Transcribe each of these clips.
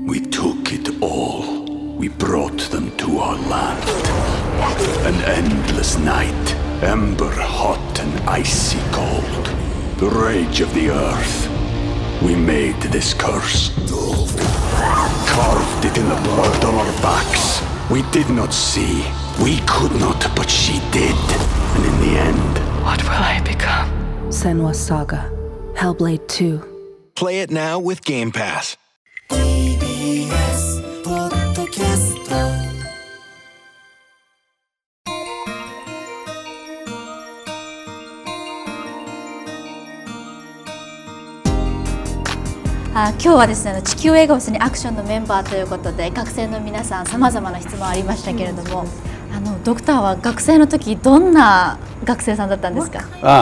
We took it all. We brought them to our land. An endless night, ember hot and icy cold. The rage of the earth. We made this curse. Carved it in the blood on our backs. We did not see. We could not, but she did. And in the end... What will I become? Senua's Saga. Hellblade 2. Play it now with Game Pass. TBS ポッドキャスト今日はですね、地球映画フェスにアクションのメンバーということで学生の皆さんさまざまな質問ありましたけれども、ドクターは学生の時どんな学生さんだったんですか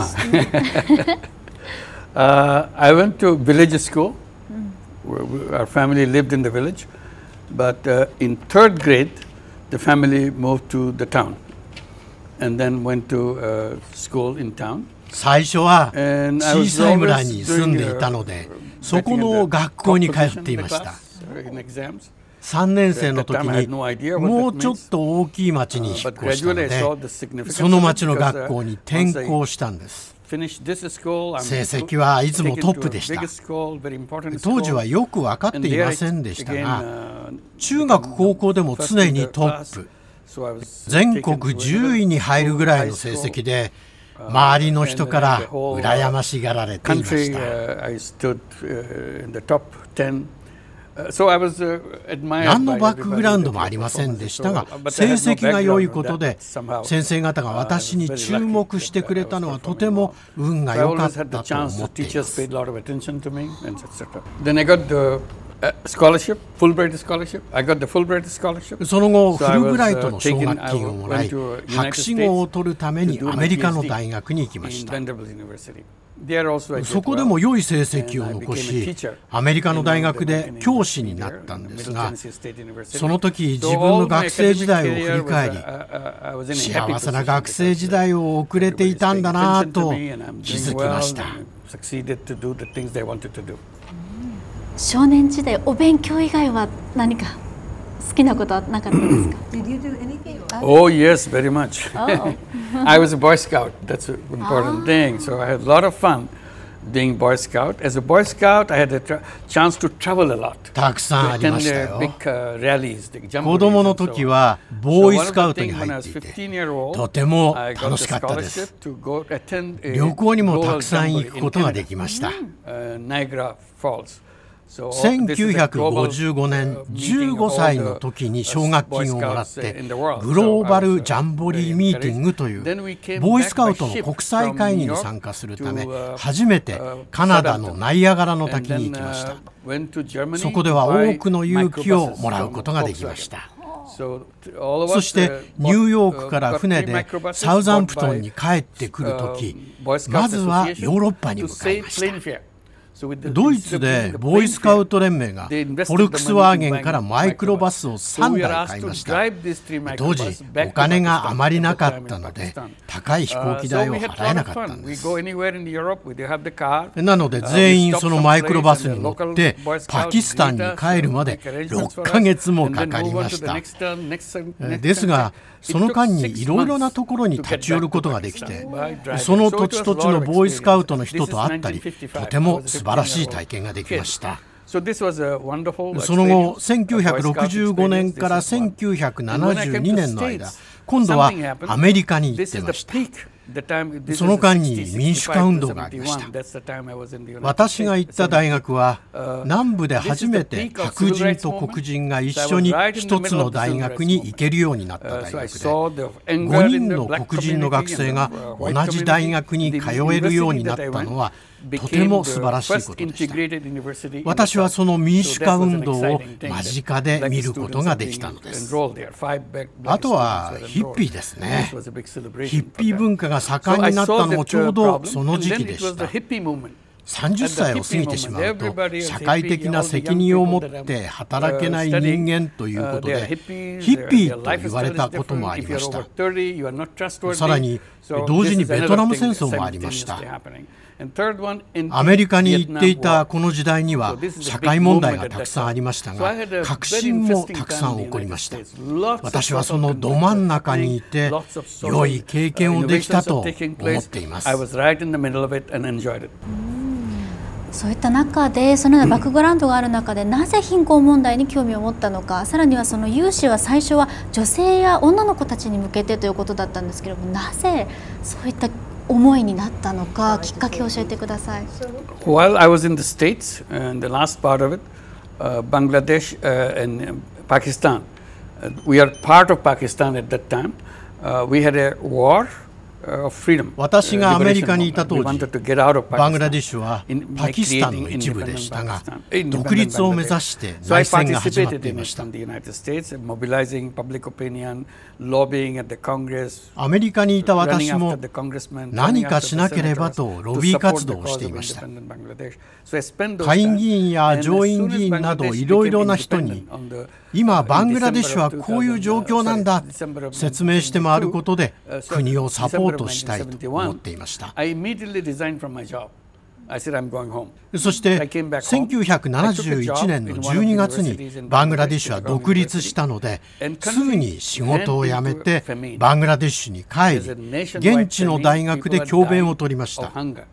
？I went to village school. Our family lived in the village, but in third grade, the family moved to the town, and then went to school in town. 最初は小さい村に住んでいたので、そこの学校に通っていました。3年生の時にもうちょっと大きい町に引っ越したので、その町の学校に転校したんです。成績はいつもトップでした。当時はよく分かっていませんでしたが、中学高校でも常にトップ、全国10位に入るぐらいの成績で、周りの人から羨ましがられていました。何のバックグラウンドもありませんでしたが、成績が良いことで先生方が私に注目してくれたのはとても運が良かったと思っています。 Scholarship, Fulbright scholarship. I got the Fulbright scholarship. その後、フルブライトの奨学金をもらい、博士号を取るためにアメリカの大学に行きました。そこでも良い成績を残し、アメリカの大学で教師になったんですが、その時自分の学生時代を振り返り、幸せな学生時代を送れていたんだなと気づきました。 少年時代、お勉強以外は何か好きなことはなかったですか？ Oh yes, very much. I was a Boy Scout. That's an important thing. So I had a lot of fun being Boy Scout. As a Boy Scout, I had a chance to travel a lot. たくさんありましたよ。 big rallies. 子供の時はボーイスカウトに入っていて、とても楽しかったです。旅行にもたくさん行くことができました。1955年15歳の時に奨学金をもらってグローバルジャンボリーミーティングというボーイスカウトの国際会議に参加するため初めてカナダのナイアガラの滝に行きました。そこでは多くの勇気をもらうことができました。そしてニューヨークから船でサウザンプトンに帰ってくる時、まずはヨーロッパに向かいました。ドイツでボーイスカウト連盟がフォルクスワーゲンからマイクロバスを3台買いました。当時お金があまりなかったので高い飛行機代を払えなかったんです。なので全員そのマイクロバスに乗ってパキスタンに帰るまで6ヶ月もかかりました。ですがその間にいろいろなところに立ち寄ることができて、その土地土地のボーイスカウトの人と会ったり、とても素晴らしい体験ができました。その後1965年から1972年の間、今度はアメリカに行ってました。その間に民主化運動がありました。私が行った大学は南部で初めて白人と黒人が一緒に一つの大学に行けるようになった大学で、5人の黒人の学生が同じ大学に通えるようになったのはとても素晴らしいことでした。私はその民主化運動を間近で見ることができたのです。あとはヒッピーですね。ヒッピー文化が盛んになったのもちょうどその時期でした。30歳を過ぎてしまうと社会的な責任を持って働けない人間ということでヒッピーと言われたこともありました。さらに同時にベトナム戦争もありました。 アメリカに行っていたこの時代には社会問題がたくさんありましたが、革新もたくさん起こりました。私はそのど真ん中にいて良い経験をできたと思っています。 そういった中で、そのようなバックグラウンドがある中で、なぜ貧困問題に興味を持ったのか、さらにはその融資は最初は女性や女の子たちに向けてということだったんですけれども、なぜそういった思いになったのか、きっかけを教えてください。 While I was in the States, and the last part of it, Bangladesh and Pakistan, we are part of Pakistan at that time. We had a war. 私がアメリカにいた当時、バングラデシュはパキスタンの一部でしたが、独立を目指して内戦が始まっていました。アメリカにいた私も何かしなければとロビー活動をしていました。下院議員や上院議員などいろいろな人に、今バングラデシュはこういう状況なんだ説明して回ることで国をサポートしたいと思っていました。そして1971年の12月にバングラデシュは独立したので、すぐに仕事を辞めてバングラデシュに帰り、現地の大学で教鞭を取りました。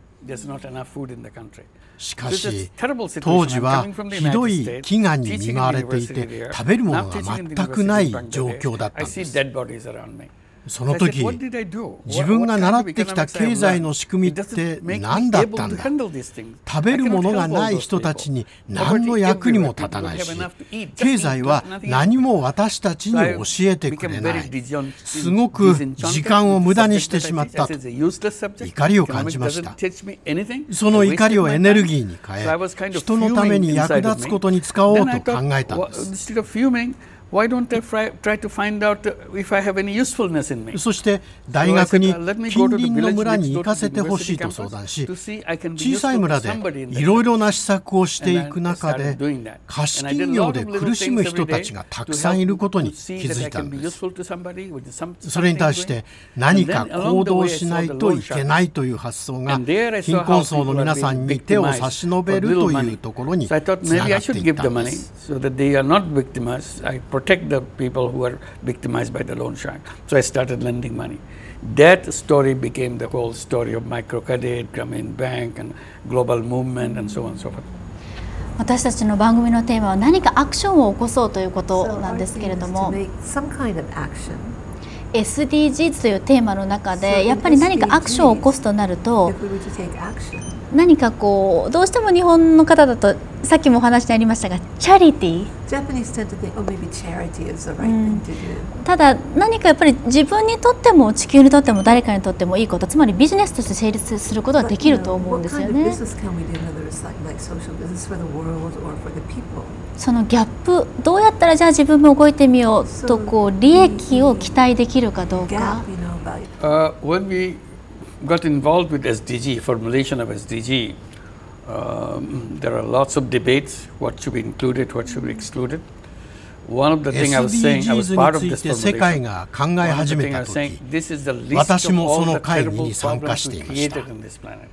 しかし当時はひどい飢餓に見舞われていて、食べるものが全くない状況だったんです。その時、自分が習ってきた経済の仕組みって何だったんだ。食べるものがない人たちに何の役にも立たないし、経済は何も私たちに教えてくれない。すごく時間を無駄にしてしまったと怒りを感じました。その怒りをエネルギーに変え、人のために役立つことに使おうと考えたんです。 Why don't I try to find out if I have any usefulness in me? そして大学に近隣の村に行かせてほしいと相談し、小さい村でいろいろな施策をしていく中で、貸金業で苦しむ人たちがたくさんいることに気づいたんです。それに対して何か行動しないといけないという発想が貧困層の皆さんに手を差し伸べるというところにつながっていったんです。 protect the people who are victimized by the loan shark. So I started lending money. That story became the whole story of microcredit, Grameen Bank, and global movement, and so on and so forth. 私たちの番組のテーマは何かアクションを起こそうということなんですけれども、SDGs というテーマの中でやっぱり何かアクションを起こすとなると、何かこうどうしても日本の方だとさっきもお話にありましたがチャリティー、ただ何かやっぱり自分にとっても地球にとっても誰かにとってもいいこと、つまりビジネスとして成立することはできると思うんですよね。そのギャップ、どうやったらじゃあ自分も動いてみようとこう利益を期待できるかどうか。 When we got involved with SDG, formulation of SDG, there are lots of debates. What should be included, what should be excluded. One of the things I was saying, I was part of this formulation. One of the things I was saying, this is the list of all the terrible problems we created on this planet.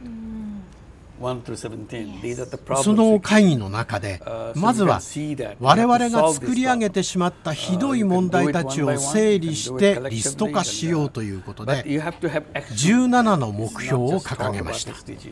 その会議の中で、まずは我々が作り上げてしまったひどい問題たちを整理してリスト化しようということで、17の目標を掲げました。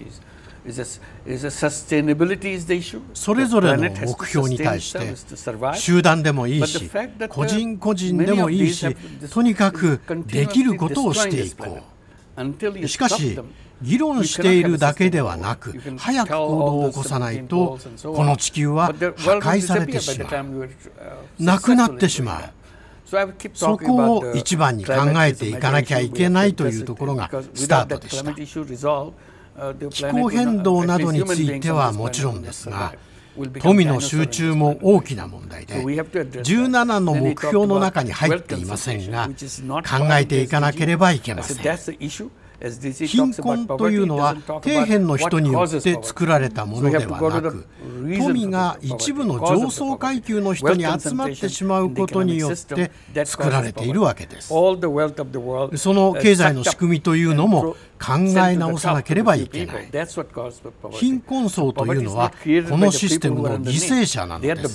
それぞれの目標に対して集団でもいいし、個人個人でもいいし、とにかくできることをしていこう。しかし議論しているだけではなく、早く行動を起こさないとこの地球は破壊されてしまう、なくなってしまう。そこを一番に考えていかなきゃいけないというところがスタートでした。気候変動などについてはもちろんですが、富の集中も大きな問題で、17の目標の中に入っていませんが、考えていかなければいけません。 貧困というのは底辺の人によって作られたものではなく、富が一部の上層階級の人に集まってしまうことによって作られているわけです。その経済の仕組みというのも考え直さなければいけない。貧困層というのはこのシステムの犠牲者なのです。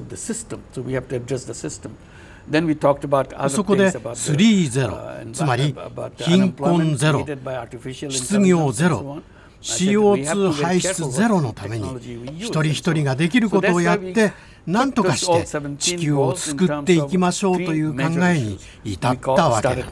そこで3-0、つまり貧困ゼロ、失業ゼロ、CO2 排出ゼロのために一人一人ができることをやって何とかして地球を救っていきましょうという考えに至ったわけなんです。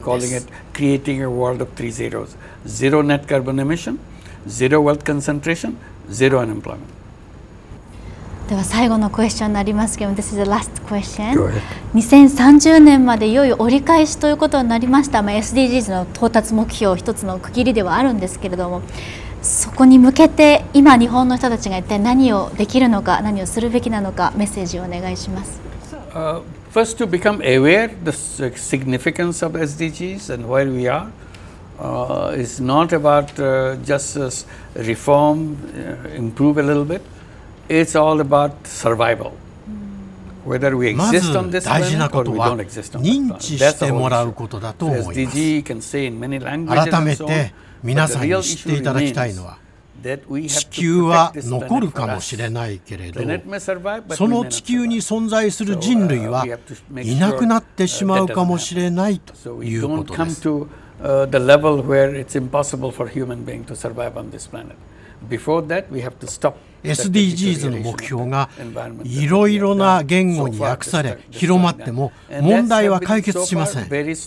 Zero net carbon emission, zero wealth concentration, zero unemployment. では最後のクエスチョンになりますけど、This is the last question. 2030年までいよいよ折り返しということになりました。SDGs の到達目標一つの区切りではあるんですけれども、そこに向けて今日本の人たちが一体何をできるのか、何をするべきなのか、メッセージをお願いします。 First, to become aware the significance of SDGs and where we are. It's not about just reform, improve a little bit. It's all about survival. Whether we exist on this planet or we don't exist on this planet. 認知してもらうことだと思います。 SDG can say in many languages. 改めて皆さんに知っていただきたいのは、地球は残るかもしれないけれど、その地球に存在する人類はいなくなってしまうかもしれないということです。 The level where it's impossible for human being to survive on this planet. Before that, we have to stop. SDGs の目標がいろいろな言語に訳され広まっても問題は解決しません。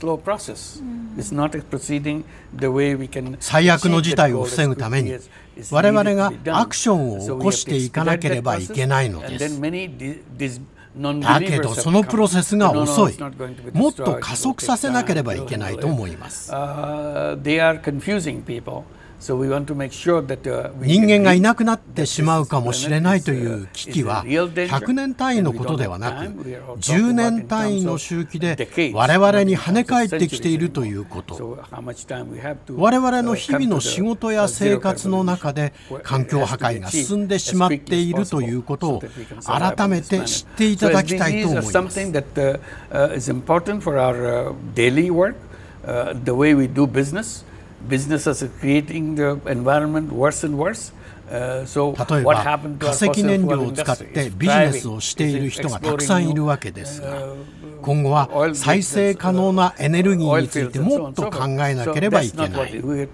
最悪の事態を防ぐために我々がアクションを起こしていかなければいけないのです。だけどそのプロセスが遅い。もっと加速させなければいけないと思います。人間がいなくなってしまうかもしれないという危機は100年単位のことではなく10年単位の周期で我々に跳ね返ってきているということ。我々の日々の仕事や生活の中で環境破壊が進んでしまっているということを改めて知っていただきたいと思います。 Businesses are creating the environment worse and worse. 例えば化石燃料を使ってビジネスをしている人がたくさんいるわけですが、今後は再生可能なエネルギーについてもっと考えなければいけない。 We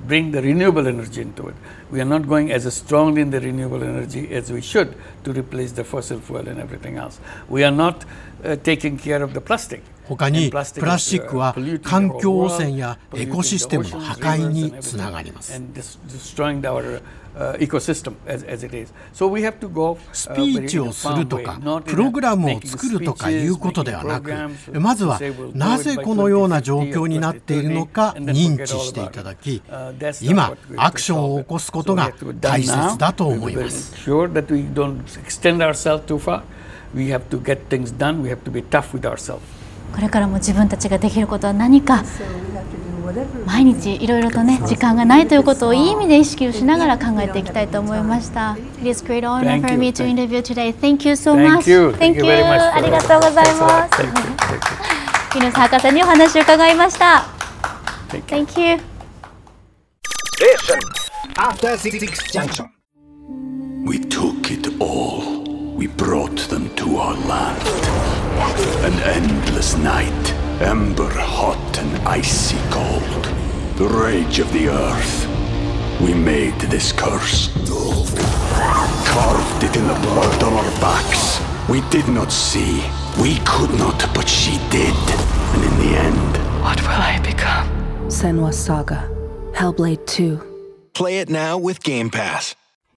are not going as strongly in the renewable energy as we should to replace the fossil fuel and everything else. We are not taking care of the plastic. 他にプラスチックは環境汚染やエコシステムの破壊につながります。スピーチをするとかプログラムを作るとかいうことではなく、まずはなぜこのような状況になっているのか認知していただき、今アクションを起こすことが大切だと思います。 これからも自分たちができることは何か、毎日いろいろとね時間がないということをいい意味で意識をしながら考えていきたいと思いました。It is great honor for me to interview today. Thank you so much. Thank you. ありがとうございます。木下博士にお話を伺いました。Thank you. After 6 junction. We took it all. We brought them to our land. An endless night, ember hot and icy cold. The rage of the earth. We made this curse. Carved it in the blood on our backs. We did not see. We could not, but she did. And in the end, what will I become? Senua's Saga. Hellblade 2. Play it now with Game Pass.